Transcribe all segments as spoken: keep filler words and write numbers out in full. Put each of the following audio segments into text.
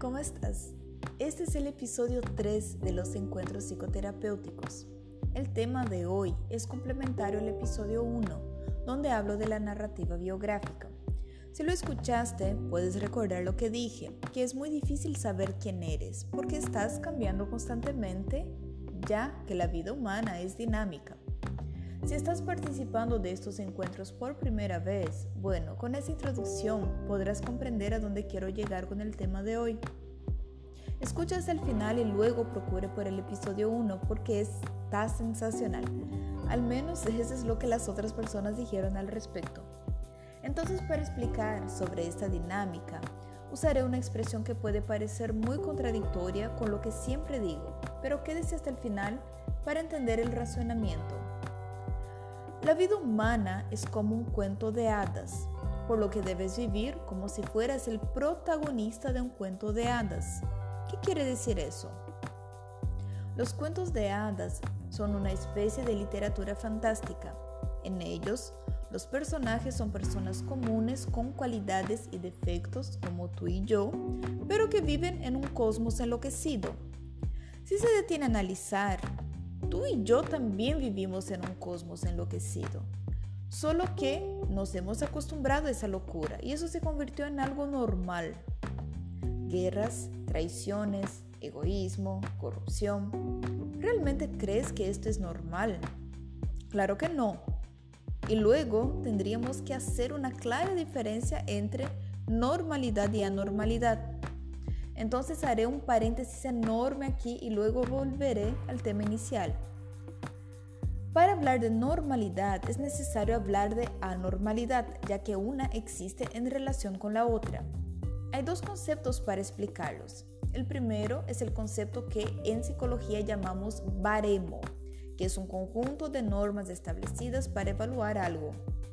¿cómo estás? Este es el episodio tres de los encuentros psicoterapéuticos. El tema de hoy es complementario al episodio uno, donde hablo de la narrativa biográfica. Si lo escuchaste, puedes recordar lo que dije, que es muy difícil saber quién eres, porque estás cambiando constantemente, ya que la vida humana es dinámica. Si estás participando de estos encuentros por primera vez, bueno, con esa introducción podrás comprender a dónde quiero llegar con el tema de hoy. Escucha hasta el final y luego procure por el episodio uno porque está sensacional. Al menos eso es lo que las otras personas dijeron al respecto. Entonces, para explicar sobre esta dinámica, usaré una expresión que puede parecer muy contradictoria con lo que siempre digo, pero quédese hasta el final para entender el razonamiento. La vida humana es como un cuento de hadas, por lo que debes vivir como si fueras el protagonista de un cuento de hadas. ¿Qué quiere decir eso? Los cuentos de hadas son una especie de literatura fantástica. En ellos, los personajes son personas comunes con cualidades y defectos como tú y yo, pero que viven en un cosmos enloquecido. Si se detiene a analizar, tú y yo también vivimos en un cosmos enloquecido, solo que nos hemos acostumbrado a esa locura y eso se convirtió en algo normal. Guerras, traiciones, egoísmo, corrupción. ¿Realmente crees que esto es normal? Claro que no. Y luego tendríamos que hacer una clara diferencia entre normalidad y anormalidad. Entonces haré un paréntesis enorme aquí y luego volveré al tema inicial. Para hablar de normalidad es necesario hablar de anormalidad, ya que una existe en relación con la otra. Hay dos conceptos para explicarlos. El primero es el concepto que en psicología llamamos baremo, que es un conjunto de normas establecidas para evaluar algo.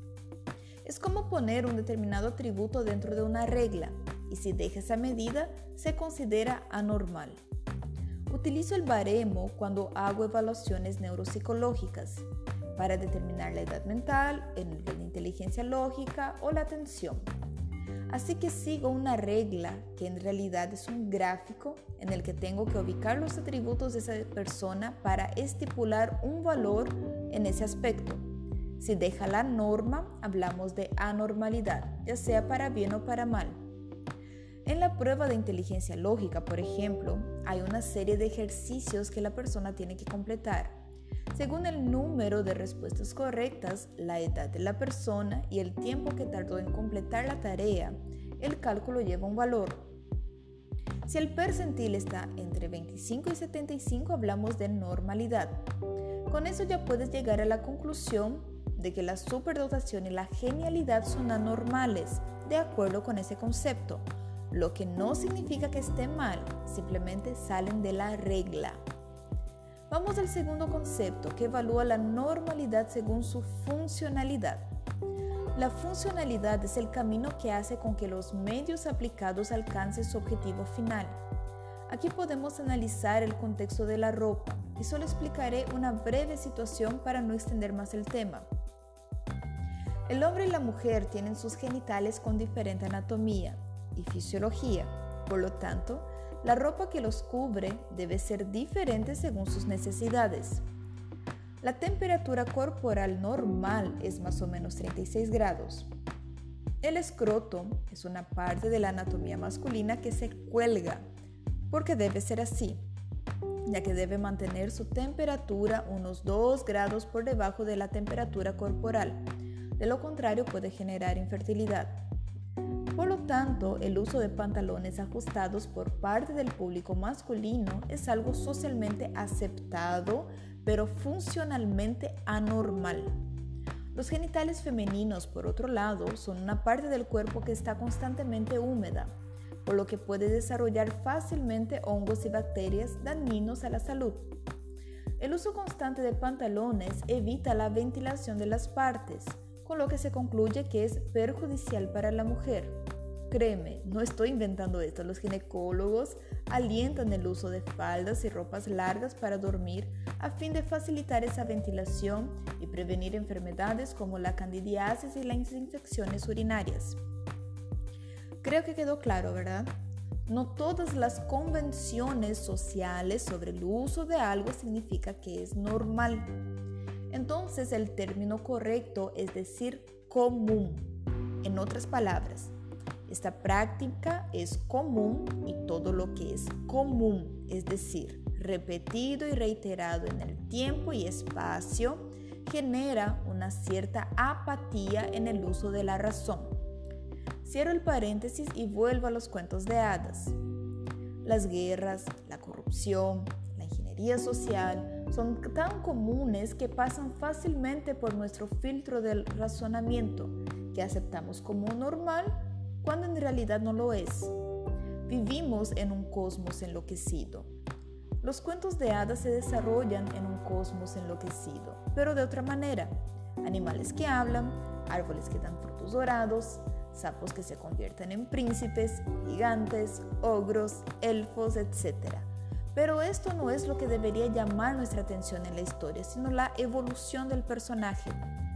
Es como poner un determinado atributo dentro de una regla, y si deja esa medida, se considera anormal. Utilizo el baremo cuando hago evaluaciones neuropsicológicas para determinar la edad mental, la inteligencia lógica o la atención. Así que sigo una regla que en realidad es un gráfico en el que tengo que ubicar los atributos de esa persona para estipular un valor en ese aspecto. Si deja la norma, hablamos de anormalidad, ya sea para bien o para mal. En la prueba de inteligencia lógica, por ejemplo, hay una serie de ejercicios que la persona tiene que completar. Según el número de respuestas correctas, la edad de la persona y el tiempo que tardó en completar la tarea, el cálculo lleva un valor. Si el percentil está entre veinticinco y setenta y cinco, hablamos de normalidad. Con eso ya puedes llegar a la conclusión de que la superdotación y la genialidad son anormales, de acuerdo con ese concepto. Lo que no significa que esté mal, simplemente salen de la regla. Vamos al segundo concepto, que evalúa la normalidad según su funcionalidad. La funcionalidad es el camino que hace con que los medios aplicados alcancen su objetivo final. Aquí podemos analizar el contexto de la ropa y solo explicaré una breve situación para no extender más el tema. El hombre y la mujer tienen sus genitales con diferente anatomía y fisiología, por lo tanto, la ropa que los cubre debe ser diferente según sus necesidades. La temperatura corporal normal es más o menos treinta y seis grados. El escroto es una parte de la anatomía masculina que se cuelga, porque debe ser así, ya que debe mantener su temperatura unos dos grados por debajo de la temperatura corporal. De lo contrario, puede generar infertilidad. Por lo tanto, el uso de pantalones ajustados por parte del público masculino es algo socialmente aceptado, pero funcionalmente anormal. Los genitales femeninos, por otro lado, son una parte del cuerpo que está constantemente húmeda, por lo que puede desarrollar fácilmente hongos y bacterias dañinos a la salud. El uso constante de pantalones evita la ventilación de las partes, con lo que se concluye que es perjudicial para la mujer. Créeme, no estoy inventando esto. Los ginecólogos alientan el uso de faldas y ropas largas para dormir a fin de facilitar esa ventilación y prevenir enfermedades como la candidiasis y las infecciones urinarias. Creo que quedó claro, ¿verdad? No todas las convenciones sociales sobre el uso de algo significa que es normal. Entonces el término correcto es decir común. En otras palabras, esta práctica es común y todo lo que es común, es decir, repetido y reiterado en el tiempo y espacio, genera una cierta apatía en el uso de la razón. Cierro el paréntesis y vuelvo a los cuentos de hadas. Las guerras, la corrupción, la ingeniería social son tan comunes que pasan fácilmente por nuestro filtro del razonamiento, que aceptamos como normal cuando en realidad no lo es. Vivimos en un cosmos enloquecido. Los cuentos de hadas se desarrollan en un cosmos enloquecido, pero de otra manera. Animales que hablan, árboles que dan frutos dorados, sapos que se convierten en príncipes, gigantes, ogros, elfos, etcétera. Pero esto no es lo que debería llamar nuestra atención en la historia, sino la evolución del personaje.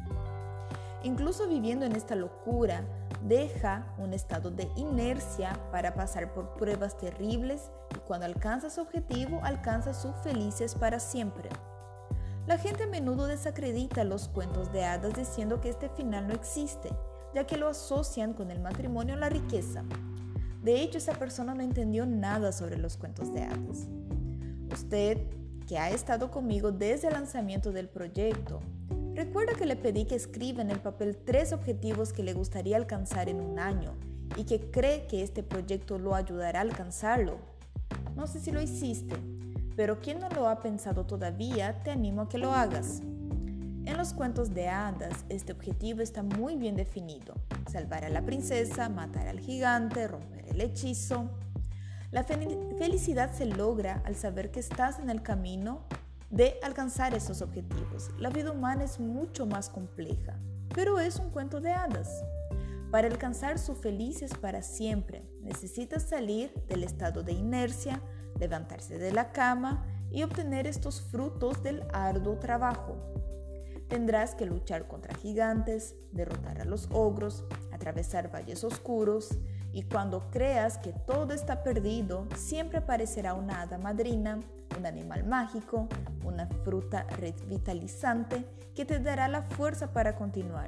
Incluso viviendo en esta locura, deja un estado de inercia para pasar por pruebas terribles y cuando alcanza su objetivo, alcanza su felices para siempre. La gente a menudo desacredita los cuentos de hadas diciendo que este final no existe, ya que lo asocian con el matrimonio o la riqueza. De hecho, esa persona no entendió nada sobre los cuentos de hadas. Usted, que ha estado conmigo desde el lanzamiento del proyecto, recuerda que le pedí que escriba en el papel tres objetivos que le gustaría alcanzar en un año y que cree que este proyecto lo ayudará a alcanzarlo. No sé si lo hiciste, pero quien no lo ha pensado todavía, te animo a que lo hagas. En los cuentos de hadas, este objetivo está muy bien definido: salvar a la princesa, matar al gigante, romper el hechizo. La fel- felicidad se logra al saber que estás en el camino de alcanzar esos objetivos. La vida humana es mucho más compleja, pero es un cuento de hadas. Para alcanzar su felices para siempre, necesitas salir del estado de inercia, levantarse de la cama y obtener estos frutos del arduo trabajo. Tendrás que luchar contra gigantes, derrotar a los ogros, atravesar valles oscuros, y cuando creas que todo está perdido, siempre aparecerá una hada madrina, un animal mágico, una fruta revitalizante que te dará la fuerza para continuar.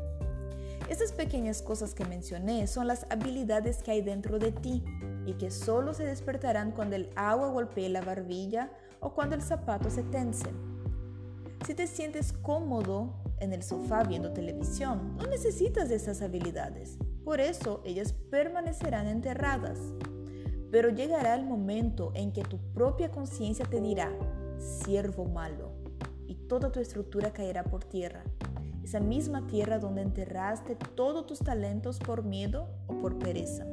Estas pequeñas cosas que mencioné son las habilidades que hay dentro de ti y que solo se despertarán cuando el agua golpee la barbilla o cuando el zapato se tense. Si te sientes cómodo en el sofá viendo televisión, no necesitas de esas habilidades. Por eso ellas permanecerán enterradas. Pero llegará el momento en que tu propia conciencia te dirá: siervo malo, y toda tu estructura caerá por tierra. Esa misma tierra donde enterraste todos tus talentos por miedo o por pereza.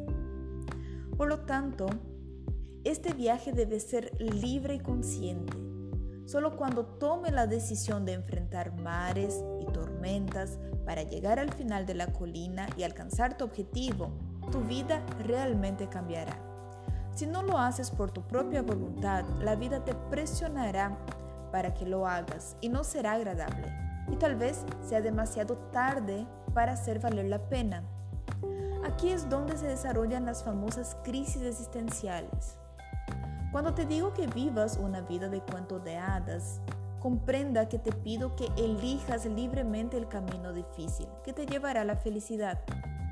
Por lo tanto, este viaje debe ser libre y consciente. Solo cuando tome la decisión de enfrentar mares y tormentas para llegar al final de la colina y alcanzar tu objetivo, tu vida realmente cambiará. Si no lo haces por tu propia voluntad, la vida te presionará para que lo hagas y no será agradable. Y tal vez sea demasiado tarde para hacer valer la pena. Aquí es donde se desarrollan las famosas crisis existenciales. Cuando te digo que vivas una vida de cuento de hadas, comprenda que te pido que elijas libremente el camino difícil que te llevará a la felicidad.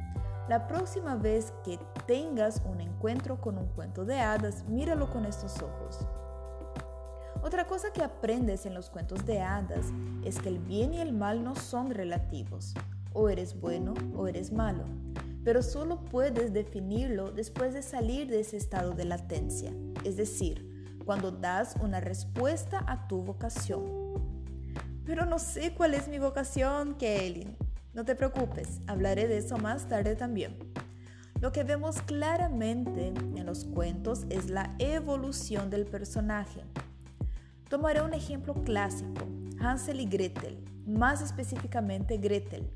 La próxima vez que tengas un encuentro con un cuento de hadas, míralo con estos ojos. Otra cosa que aprendes en los cuentos de hadas es que el bien y el mal no son relativos. O eres bueno o eres malo, pero solo puedes definirlo después de salir de ese estado de latencia, es decir, cuando das una respuesta a tu vocación. Pero no sé cuál es mi vocación, Kelly. No te preocupes, hablaré de eso más tarde también. Lo que vemos claramente en los cuentos es la evolución del personaje. Tomaré un ejemplo clásico, Hansel y Gretel, más específicamente Gretel.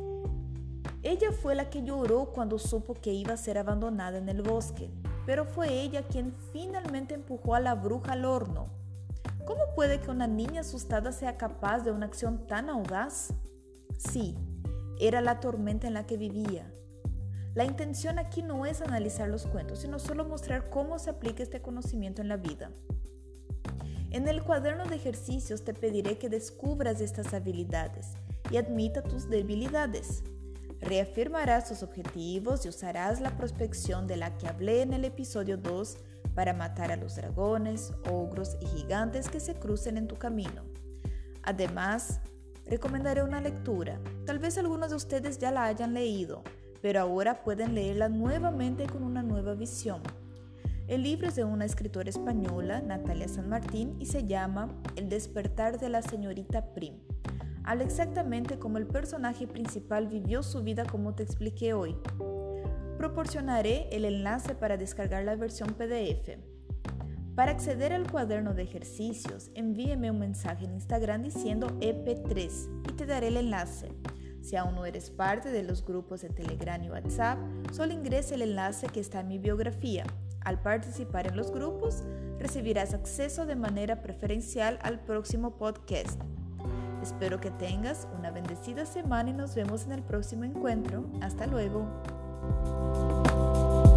Ella fue la que lloró cuando supo que iba a ser abandonada en el bosque, pero fue ella quien finalmente empujó a la bruja al horno. ¿Cómo puede que una niña asustada sea capaz de una acción tan audaz? Sí, era la tormenta en la que vivía. La intención aquí no es analizar los cuentos, sino solo mostrar cómo se aplica este conocimiento en la vida. En el cuaderno de ejercicios te pediré que descubras estas habilidades y admita tus debilidades. Reafirmarás tus objetivos y usarás la prospección de la que hablé en el episodio dos para matar a los dragones, ogros y gigantes que se crucen en tu camino. Además, recomendaré una lectura. Tal vez algunos de ustedes ya la hayan leído, pero ahora pueden leerla nuevamente con una nueva visión. El libro es de una escritora española, Natalia San Martín, y se llama El despertar de la señorita Prim. Habla exactamente cómo el personaje principal vivió su vida como te expliqué hoy. Proporcionaré el enlace para descargar la versión P D F. Para acceder al cuaderno de ejercicios, envíeme un mensaje en Instagram diciendo E P tres y te daré el enlace. Si aún no eres parte de los grupos de Telegram y WhatsApp, solo ingresa el enlace que está en mi biografía. Al participar en los grupos, recibirás acceso de manera preferencial al próximo podcast. Espero que tengas una bendecida semana y nos vemos en el próximo encuentro. Hasta luego.